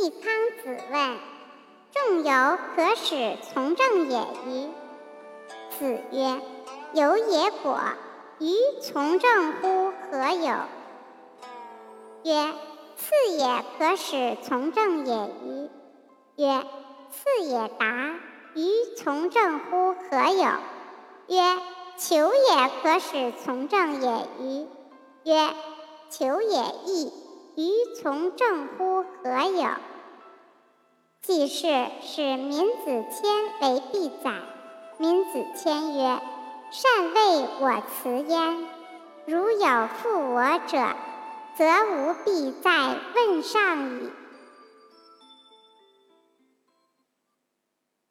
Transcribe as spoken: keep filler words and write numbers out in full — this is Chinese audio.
季康子问：仲由可使从政也与？子曰：由也果，于从政乎何有？曰：次也可使从政也与？曰：次也达，于从政乎何有？曰：求也可使从政也与？曰：求也易，于从政乎何有？季氏使闵子骞为必宰。闵子骞曰：善为我辞焉，如有负我者，则吾必在问上矣。